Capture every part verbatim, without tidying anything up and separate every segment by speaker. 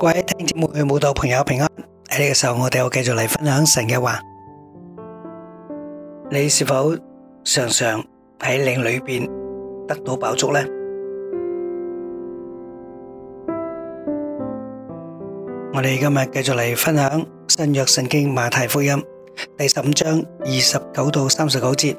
Speaker 1: 各位弟兄姊妹、慕道朋友平安。喺呢個時候，我哋又繼續嚟分享神嘅話。你是否常常喺靈裏邊得到飽足呢？我哋今日繼續嚟分享新約聖經馬太福音第十五章二十九到三十九節。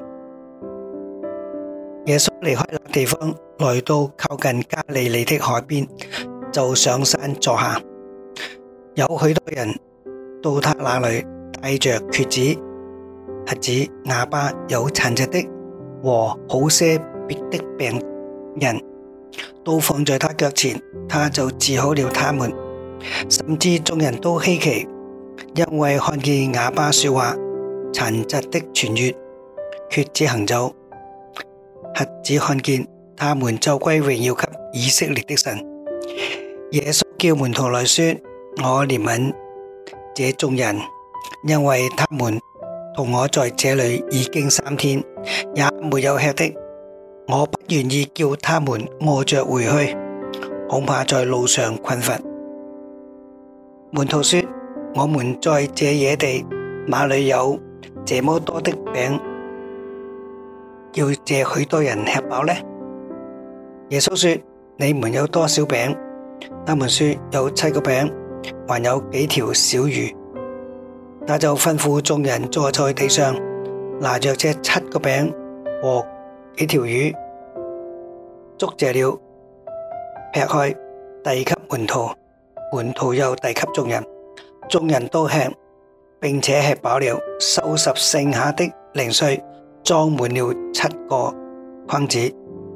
Speaker 1: 耶穌離開那地方，來到靠近加利利的海邊，就上山坐下。有許多人到他那裏，帶着瘸子、瞎子、啞巴、有殘疾的和好些別的病人，都放在他腳前，他就治好了他們。甚至眾人都稀奇，因為看見啞巴說話、殘疾的痊癒、瘸子行走、瞎子看見，他們就歸榮耀給以色列的神。耶穌叫門徒來說：我憐憫這眾人，因為他們同我在這裏已經三天，也沒有吃的。我不願意叫他們餓着回去，恐怕在路上困乏。門徒說：我們在這野地，哪裏有這麼多的餅，叫這許多人吃飽呢？耶穌說：你們有多少餅？他們說：有七個餅，還有幾條小魚。他就吩咐眾人坐在地上，拿着這七個餅和幾條魚，祝謝了，劈開，遞給門徒，門徒又遞給眾人，眾人都吃，並且吃飽了，收拾剩下的零碎，裝滿了七個筐子。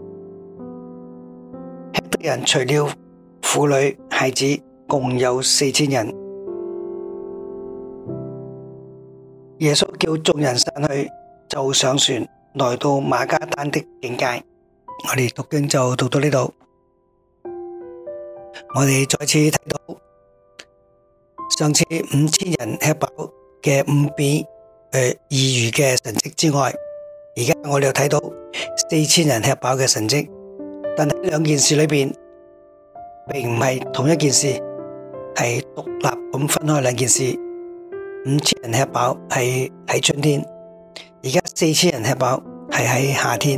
Speaker 1: 吃的人除了婦女孩子，共有四千人。耶穌叫眾人散去，就上船，來到馬加丹的境界。我哋讀經就讀到呢度。我哋再次睇到上次五千人吃飽嘅五餅誒二魚嘅神蹟之外，而家我哋又睇到四千人吃飽嘅神蹟。但喺兩件事裏邊，並唔係同一件事，係獨立咁分開兩件事。五千人吃飽係喺春天，而家四千人吃飽係喺夏天。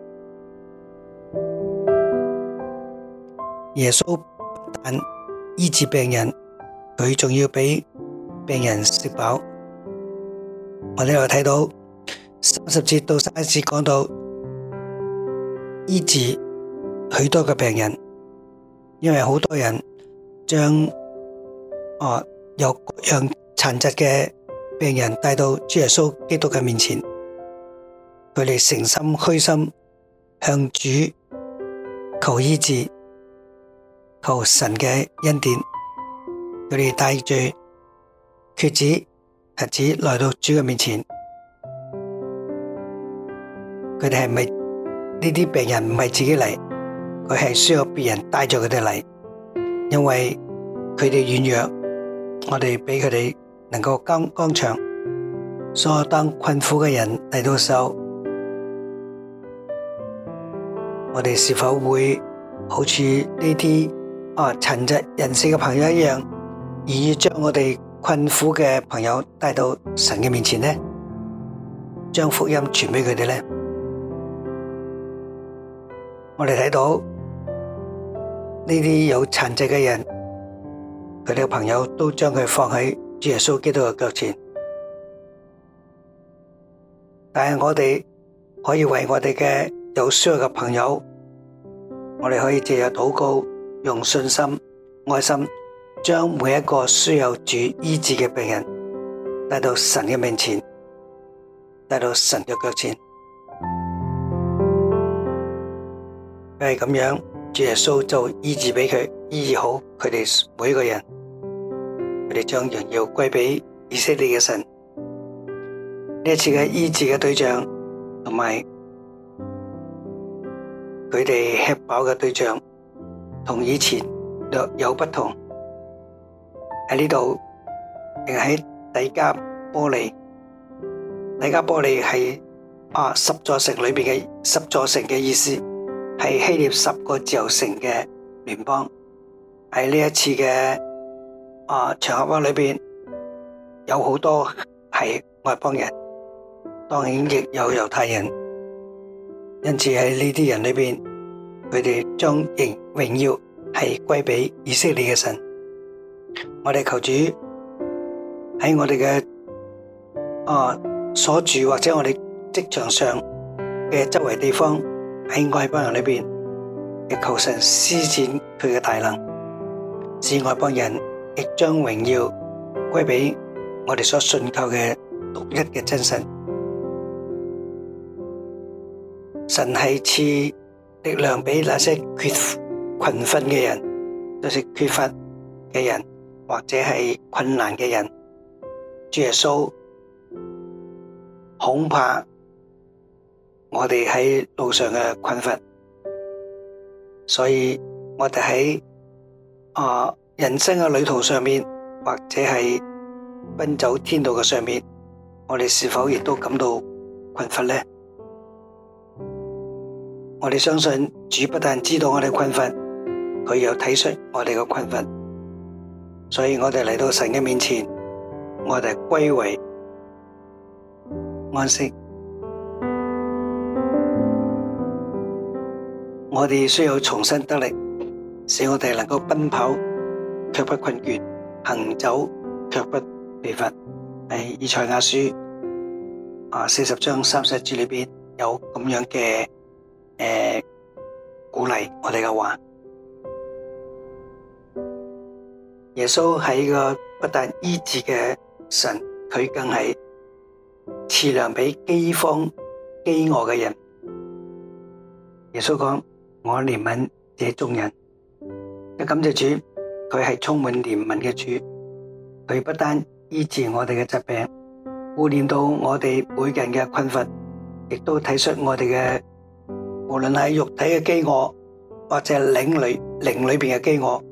Speaker 1: 耶穌不但醫治病人，佢仲要俾病人食飽。我哋又睇到三十節到三十節講到醫治許多嘅病人，因為好多人將啊有各樣殘疾嘅病人帶到主耶穌基督嘅面前，佢哋誠心虛心向主求醫治，求神嘅恩典。佢哋帶住瘸子、瞎子來到主嘅面前，佢哋係咪呢啲病人唔係自己嚟？佢係需要別人帶住佢哋嚟，因為佢哋軟弱，我哋俾佢哋能夠剛剛強。所以當困苦嘅人嚟到時候，我哋是否會好似呢啲啊殘疾人士嘅朋友一樣，願意將我哋困苦嘅朋友帶到神嘅面前呢？將福音傳俾佢哋呢？我哋睇到呢啲有殘疾嘅人，佢哋嘅朋友都將佢放喺主耶穌基督嘅腳前。但係我哋可以為我哋嘅有需要嘅朋友，我哋可以借着禱告，用信心、愛心，將每一個需要主醫治嘅病人帶到神嘅面前，帶到神嘅腳前。因為咁樣，主耶穌就醫治俾佢，醫治好佢哋每一個人，佢哋將榮耀歸俾以色列嘅神。呢一次嘅醫治嘅對象，同埋佢哋吃飽嘅對象，同以前略有不同。喺呢度，定喺底加波利。底加波利係啊十座城裏邊嘅十座城嘅意思，係希臘十個自由城嘅聯邦。喺呢一次嘅啊場合裏邊有好多係外邦人，當然亦有猶太人，因此喺呢啲人裏邊，佢哋將榮榮耀係歸俾以色列嘅神。我哋求主喺我哋嘅啊所住或者我哋職場上嘅周圍地方，喺外邦人裏邊，亦求神施展佢嘅大能，使外邦人亦將榮耀歸俾我哋所信靠嘅獨一嘅真神。神係賜力量俾那些缺困乏嘅人，就是缺乏嘅人或者係困難嘅人。主耶穌恐怕我哋喺路上嘅困乏，所以我哋喺啊人生嘅旅途上面，或者係奔走天道嘅上面，我哋是否亦都感到困乏呢？我哋相信主不但知道我哋困乏，佢又體恤我哋嘅困乏，所以我哋嚟到神嘅面前，我哋歸為安息。我哋需要重新得力，使我哋能夠奔跑卻不困倦，行走卻不疲乏。喺以賽亞書啊四十章三十節裏邊有咁樣嘅誒鼓勵我哋嘅話。耶穌係個不但醫治嘅神，佢更係賜糧俾饑荒饑餓嘅人。耶穌講：我憐憫這眾人。感謝主，佢係充滿憐憫嘅主，佢不單醫治我哋嘅疾病，顧念到我哋每個人嘅困乏，亦都體恤我哋嘅無論係肉體嘅飢餓，或者係靈裏靈裏邊嘅飢餓。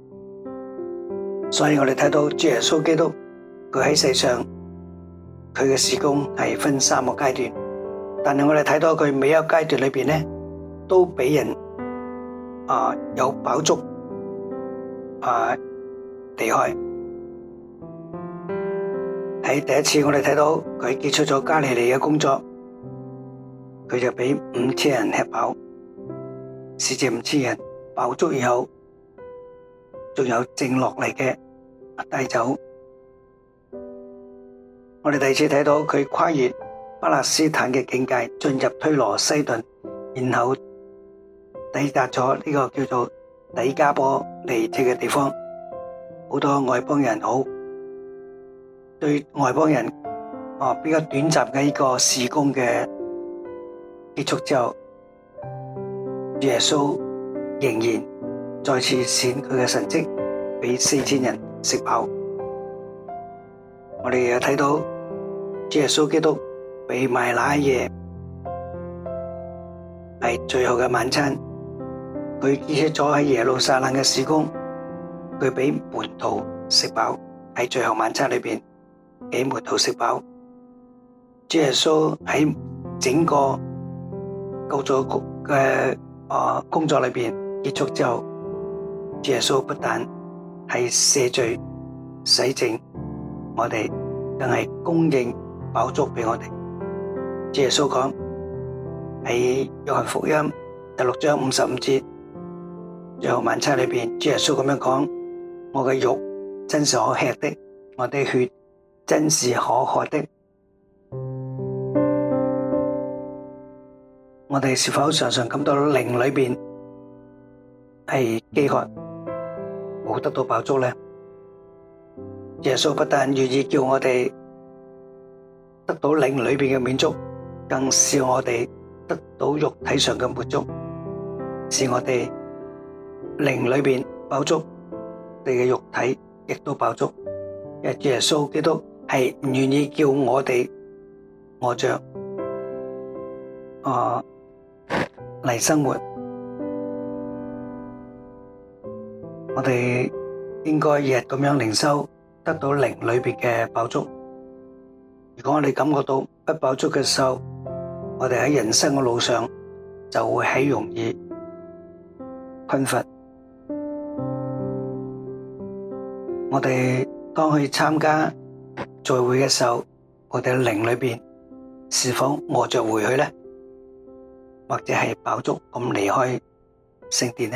Speaker 1: 所以我哋睇到主耶穌基督，佢喺世上佢嘅事工係分三個階段，但係我哋睇到佢每一個階段裏邊咧，都俾人啊有飽足啊離開。喺第一次我哋睇到佢結束咗加利利嘅工作，佢就俾五千人吃飽，使這五千人飽足以後，仲有剩落嚟嘅帶走。我哋第二次睇到佢跨越巴勒斯坦嘅境界，進入推羅西頓，然後抵達咗呢個叫做底加波利這嘅地方。好多外邦人好對外邦人啊比較短暫嘅呢個事工嘅結束之後，耶穌仍然再次顯佢嘅神蹟，俾四千人食飽。我哋又睇到耶穌基督被賣那夜係最後嘅晚餐，佢結束咗喺耶路撒冷嘅事工，佢俾門徒食飽，喺最後晚餐裏邊俾門徒食飽。耶穌喺整個救助嘅啊工作裏邊結束之後，耶穌不但係赦罪洗淨我哋，更係供應飽足俾我哋。耶穌講喺約翰福音第六章五十五節，最後晚餐裏邊，耶穌咁樣講：我嘅肉真是可吃的，我的血真是可喝的。我哋是否常常感到靈裏邊係飢渴，冇得到飽足呢？耶穌不但願意叫我哋得到靈裏邊嘅滿足，更使我哋得到肉體上嘅滿足，使我哋靈裏邊飽足，我哋嘅肉體亦都飽足。因為耶穌基督係唔願意叫我哋餓着啊嚟生活，我哋應該日日咁樣靈修，得到靈裏邊嘅飽足。如果我哋感覺到不飽足嘅時候，我哋喺人生嘅路上就會喺容易困乏。 我哋當去參加聚會嘅時候，我哋嘅靈裏邊是否餓着回去呢？或者係飽足咁離開聖殿呢？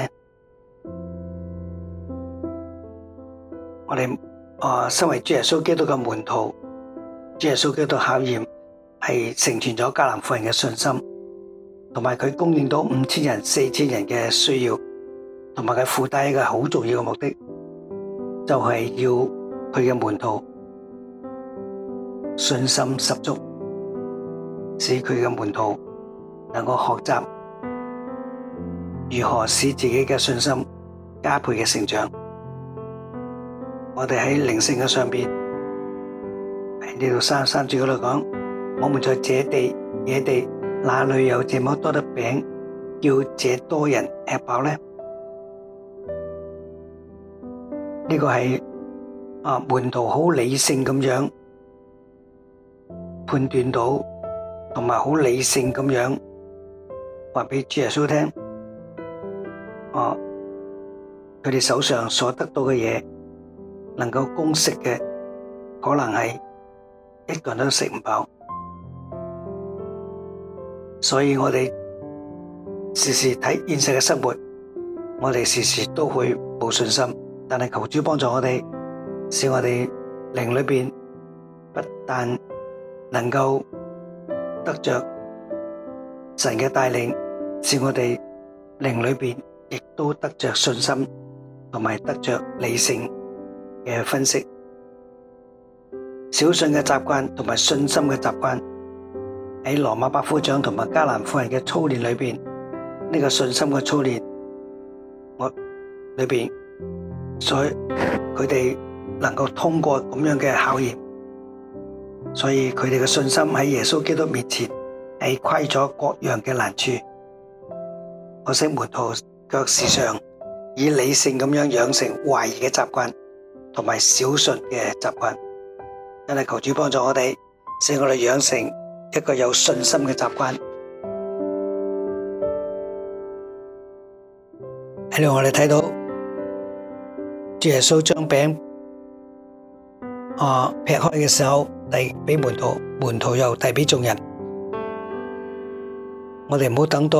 Speaker 1: 我哋啊，身為主耶穌基督嘅門徒，主耶穌基督考驗係成全咗迦南婦人嘅信心，同埋佢供應到五千人、四千人嘅需要，同埋佢附帶一個好重要嘅目的，就係要佢嘅門徒信心十足，使佢嘅門徒能夠學習如何使自己嘅信心加倍嘅成長。我哋喺靈性嘅上邊，喺呢度三十三節嗰度講，我們在這地野地，哪裏有這麼多的餅，叫這多人吃飽呢？呢個係啊門徒好理性咁樣判斷到，同埋好理性咁樣話俾主耶穌聽，啊佢哋手上所得到嘅嘢，能夠供食嘅，可能係一個人都食唔飽，所以我哋時時睇現實嘅生活，我哋時時都會冇信心。但係求主幫助我哋，使我哋靈裏邊不但能夠得着神嘅帶領，使我哋靈裏邊亦都得着信心，同埋得着理性嘅分析。小信嘅習慣同埋信心嘅習慣，喺羅馬百夫長同埋迦南婦人嘅操練裏邊，呢個信心嘅操練，我裏邊，所以佢哋能夠通過咁樣嘅考驗，所以佢哋嘅信心喺耶穌基督面前係虧咗各樣嘅難處。可惜門徒卻時常以理性咁樣養成懷疑嘅習慣，同埋小信嘅習慣。真係求主幫助我哋，使我哋養成一個有信心嘅習慣。喺度我哋睇到主耶穌將餅啊劈開嘅時候，遞俾門徒，門徒又遞俾眾人。我哋唔好等到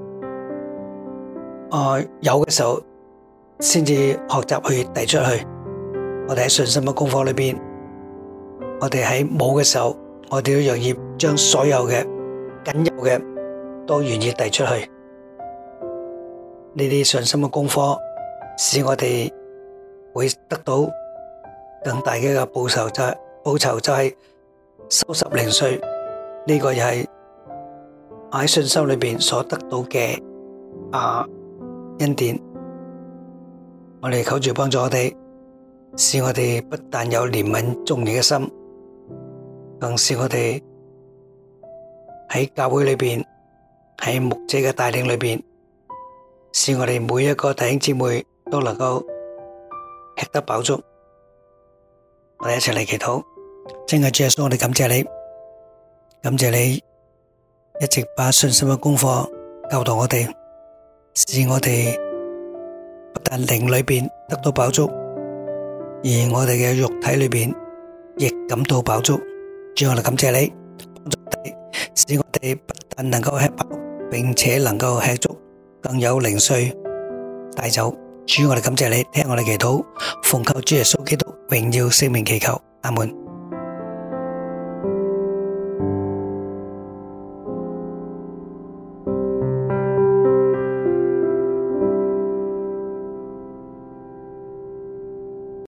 Speaker 1: 啊有嘅時候先至學習去遞出去。我哋喺信心嘅功課裏邊，我哋喺冇嘅時候，我哋都願意將所有嘅僅有嘅都願意遞出去。呢啲信心嘅功課，使我哋會得到更大嘅一個報酬，就係報酬就係收拾零碎。呢個又係喺信心裏邊所得到嘅啊恩典。我哋求主幫助我哋，使我哋不但有憐憫眾人嘅心，更使我哋喺教會裏邊，喺牧者嘅帶領裏邊，使我哋每一個弟兄姊妹都能夠吃得飽足。我哋一齊嚟祈禱。親愛主耶穌，我哋感謝你，感謝你一直把信心嘅功課教導我哋，使我哋不但靈裏邊得到飽足，而我哋嘅肉體裏邊亦感到飽足。主，我哋感謝你，幫助我哋，使我哋不但能夠吃飽，並且能夠吃足，更有零碎帶走。主，我哋感謝你，聽我哋祈禱，奉靠主耶穌基督榮耀聖名祈求，阿門。